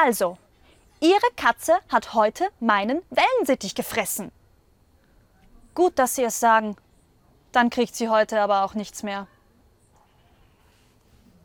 Also, Ihre Katze hat heute meinen Wellensittich gefressen. Gut, dass Sie es sagen. Dann kriegt sie heute aber auch nichts mehr.